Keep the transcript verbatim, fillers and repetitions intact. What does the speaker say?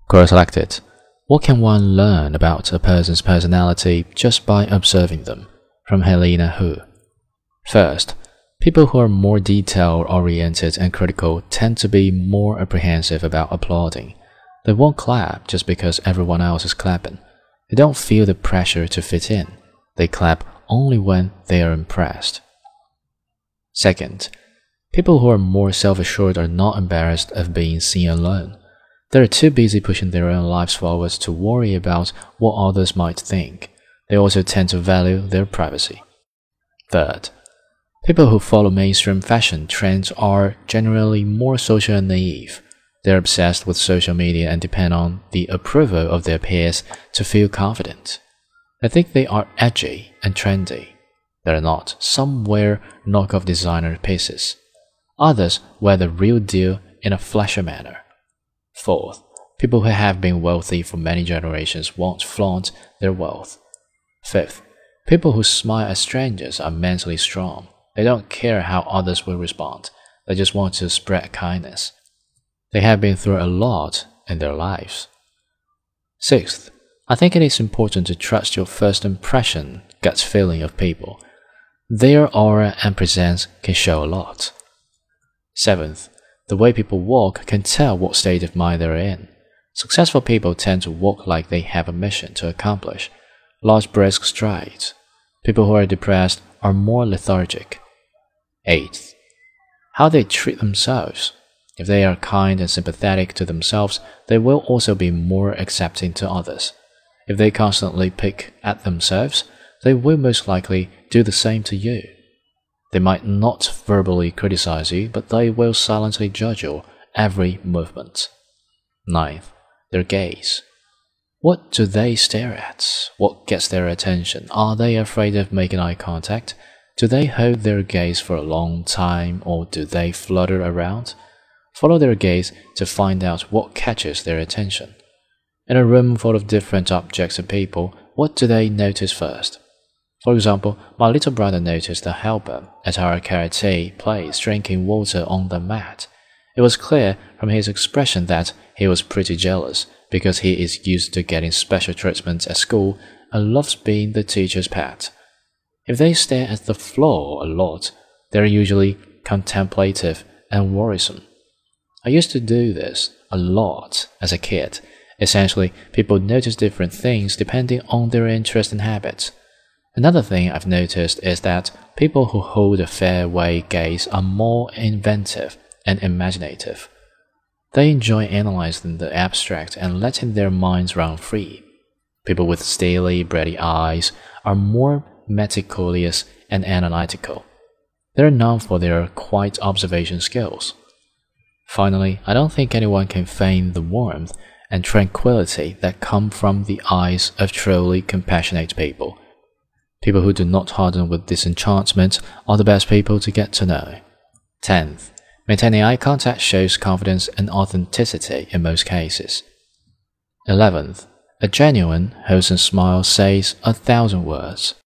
Quote selected. What can one learn about a person's personality just by observing them? From Helena Hu. First, people who are more detail-oriented and critical tend to be more apprehensive about applauding. They won't clap just because everyone else is clapping. They don't feel the pressure to fit in. They clap only when they are impressed. Second, people who are more self-assured are not embarrassed of being seen alone. They are too busy pushing their own lives forward to worry about what others might think. They also tend to value their privacy. Third, people who follow mainstream fashion trends are generally more social and naive. They are obsessed with social media and depend on the approval of their peers to feel confident. They think they are edgy and trendy. They are not. Some wear knockoff designer pieces. Others wear the real deal in a flashy manner. Fourth, people who have been wealthy for many generations won't flaunt their wealth. Fifth, people who smile at strangers are mentally strong. They don't care how others will respond. They just want to spread kindness. They have been through a lot in their lives. Sixth, I think it is important to trust your first impression, gut feeling of people. Their aura and presence can show a lot. Seventh, the way people walk can tell what state of mind they're in. Successful people tend to walk like they have a mission to accomplish, large brisk strides. People who are depressed are more lethargic. Eighth, how they treat themselves. If they are kind and sympathetic to themselves, they will also be more accepting to others. If they constantly pick at themselves, they will most likely do the same to you. They might not verbally criticize you, but they will silently judge your every movement. Ninth, their gaze. What do they stare at? What gets their attention? Are they afraid of making eye contact? Do they hold their gaze for a long time, or do they flutter around? Follow their gaze to find out what catches their attention. In a room full of different objects and people, what do they notice first? For example, my little brother noticed the helper at our karate place drinking water on the mat. It was clear from his expression that he was pretty jealous, because he is used to getting special treatment at school and loves being the teacher's pet. If they stare at the floor a lot, they are usually contemplative and worrisome. I used to do this a lot as a kid. Essentially, people notice different things depending on their interests and habits. Another thing I've noticed is that people who hold a fairway gaze are more inventive and imaginative. They enjoy analyzing the abstract and letting their minds run free. People with steely, bready eyes are more meticulous and analytical. They are known for their quiet observation skills. Finally, I don't think anyone can feign the warmth and tranquility that come from the eyes of truly compassionate people. People who do not harden with disenchantment are the best people to get to know. Tenth, maintaining eye contact shows confidence and authenticity in most cases. Eleventh, a genuine, wholesome smile says a thousand words.